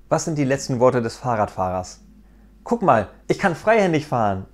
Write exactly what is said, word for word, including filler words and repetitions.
Was sind die letzten Worte des Fahrradfahrers? Guck mal, ich kann freihändig fahren!